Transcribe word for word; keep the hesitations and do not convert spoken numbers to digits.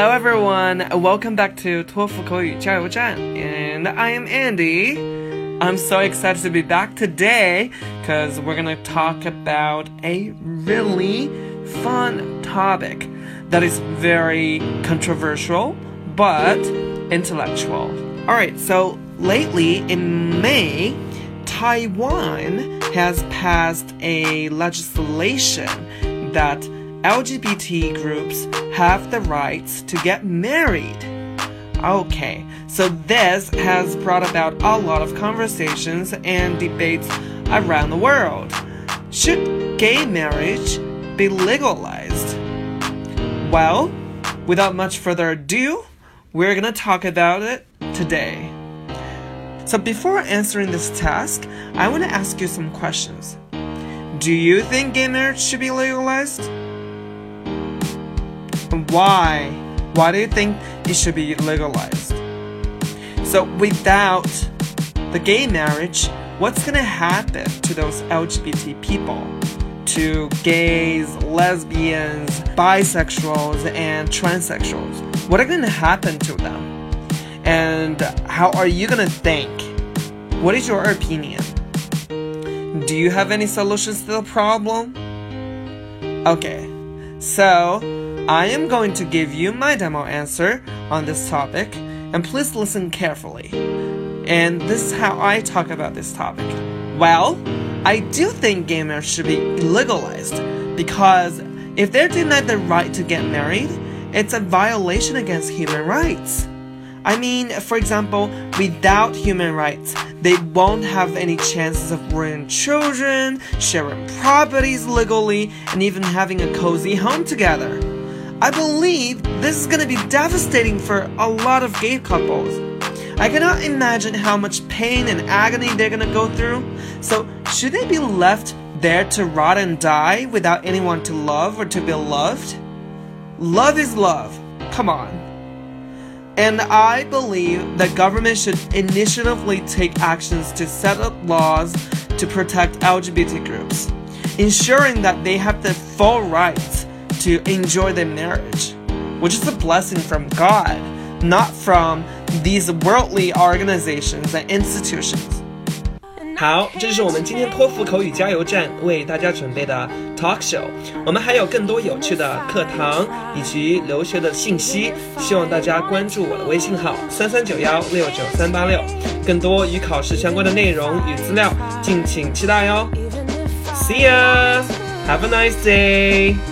Hello everyone, welcome back to 托福口语加油站 and I am Andy. I'm so excited to be back today because we're going to talk about a really fun topic that is very controversial but intellectual. Alright, so lately in May, Taiwan has passed a legislation that L G B T groups have the rights to get married. Okay, so this has brought about a lot of conversations and debates around the world. Should gay marriage be legalized? Well, without much further ado, we're gonna talk about it today. So before answering this task, I want to ask you some questions. Do you think gay marriage should be legalized? Why? Why do you think it should be legalized? So without the gay marriage, what's gonna happen to those L G B T people? To gays, lesbians, bisexuals, and transsexuals? What are gonna happen to them? And how are you gonna think? What is your opinion? Do you have any solutions to the problem? Okay, so I am going to give you my demo answer on this topic, and please listen carefully. And this is how I talk about this topic. Well, I do think gay marriage should be legalized because if they're denied the right to get married, it's a violation against human rights. I mean, for example, without human rights, they won't have any chances of rearing children, sharing properties legally, and even having a cozy home together. I believe this is gonna be devastating for a lot of gay couples. I cannot imagine how much pain and agony they're gonna go through. So, should they be left there to rot and die without anyone to love or to be loved? Love is love. Come on. And I believe the government should initiatively take actions to set up laws to protect L G B T groups, ensuring that they have the full rights to enjoy their marriage, which is a blessing from God, not from these worldly organizations and institutions. 好，这就是我们今天托福口语加油站为大家准备的 talk show。我们还有更多有趣的课堂以及留学的信息，希望大家关注我的微信号三三九幺六九三八六，更多与考试相关的内容与资料，敬请期待哟。See ya! Have a nice day!